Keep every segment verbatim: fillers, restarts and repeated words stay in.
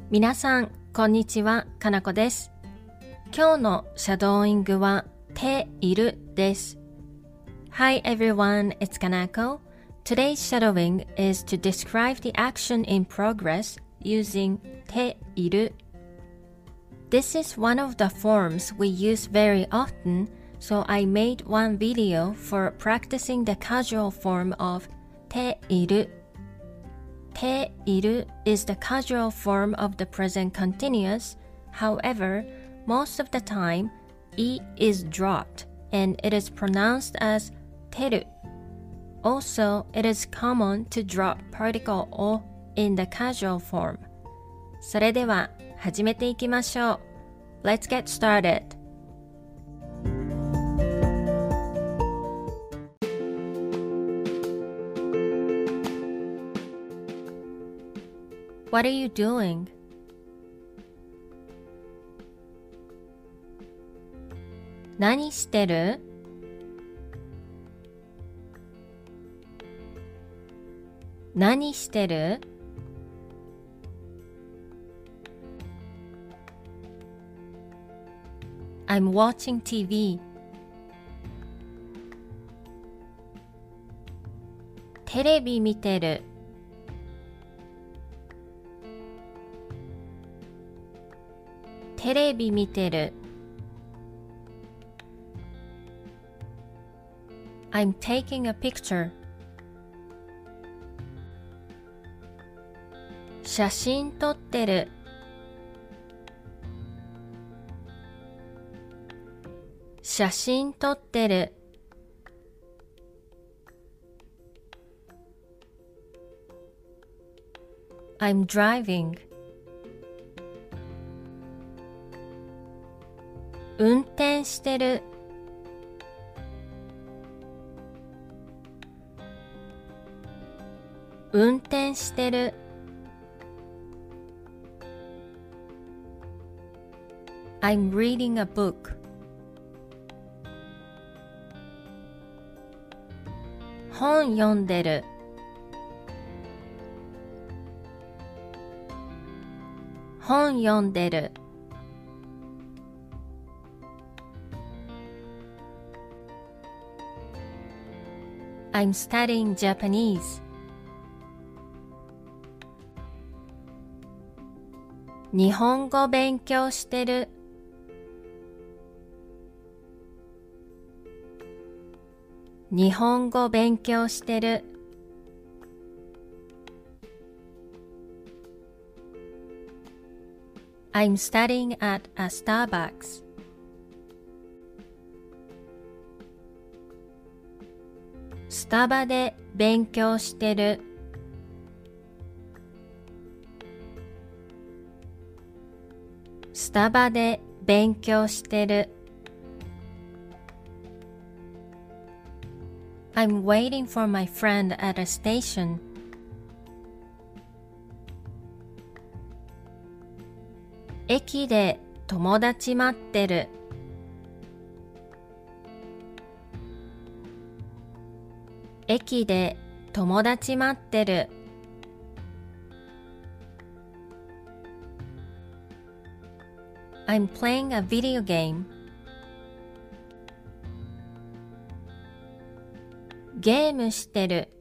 皆さん、こんにちは、かなこです。今日のシャドーイングは、ているです。Hi everyone, it's Kanako. Today's shadowing is to describe the action in progress using ている. This is one of the forms we use very often, so I made one video for practicing the casual form of ている. ている is the casual form of the present continuous. However, most of the time, e is dropped and it is pronounced as てる. Also, it is common to drop particle o in the casual form. それでは始めていきましょう. Let's get started. What are you doing? 何してる? 何してる? I'm watching ティーブイ. テレビ見てる. テレビ見てる. I'm taking a picture. 写真撮ってる. 写真撮ってる. I'm driving. 運転してる. 運転してる. I'm reading a book. 本読んでる. 本読んでる. I'm studying Japanese. 日本語勉強してる. 日本語勉強してる. I'm studying at a Starbucks. スタバで勉強してる. スタバで勉強してる. I'm waiting for my friend at a station. 駅で友達待ってる. 駅で友達待ってる. I'm playing a video game. ゲームしてる.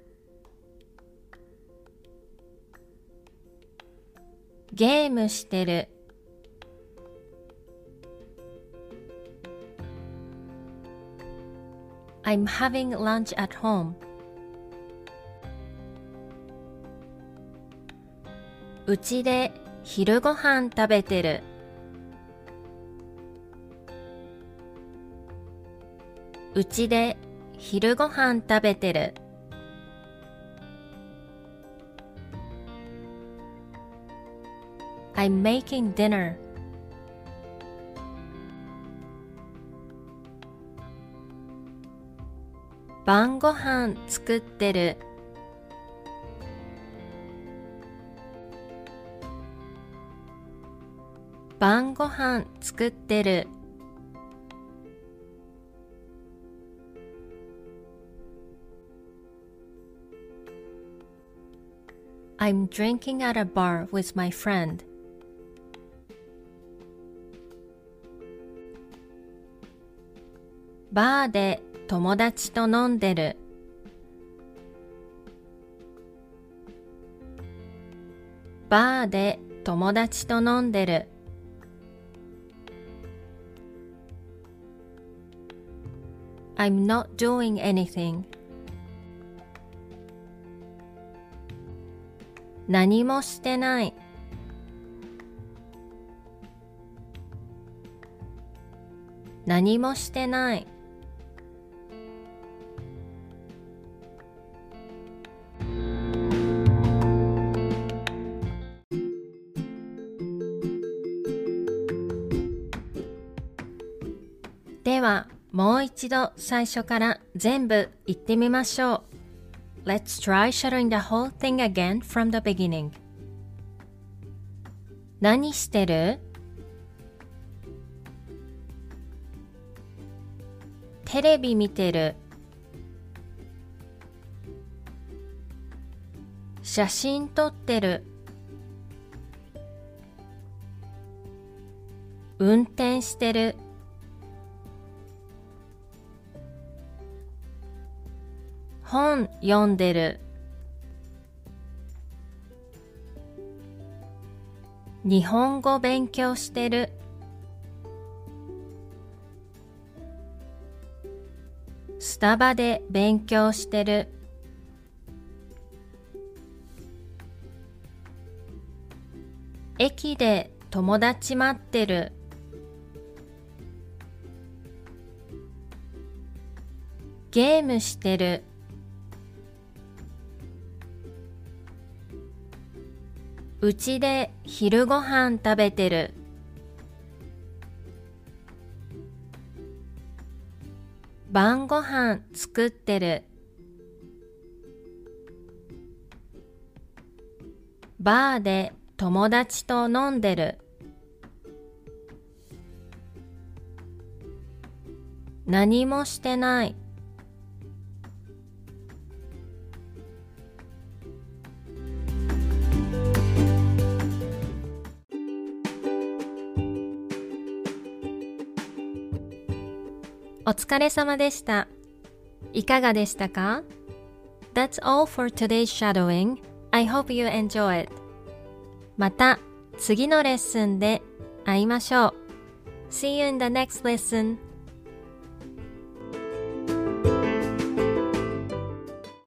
ゲームしてる. I'm having lunch at home. うちで昼ご飯食べてる. うちで昼ご飯食べてる. I'm making dinner. 晩ご飯作ってる. 晩ご飯作ってる. I'm drinking at a bar with my friend. バーで友達と飲んでる。バーで友達と飲んでる。I'm not doing anything. 何もしてない。何もしてない。では、もう一度最初から全部言ってみましょう。Let's try shadowing the whole thing again from the beginning. 何してる？テレビ見てる。写真撮ってる。運転してる。本読んでる。日本語勉強してる。スタバで勉強してる。駅で友達待ってる。ゲームしてる。うちで昼ごはん食べてる。晩ごはん作ってる。バーで友達と飲んでる。何もしてない。お疲れ様でした。いかがでしたか？ That's all for today's shadowing. I hope you enjoy it. また次のレッスンで会いましょう。See you in the next lesson.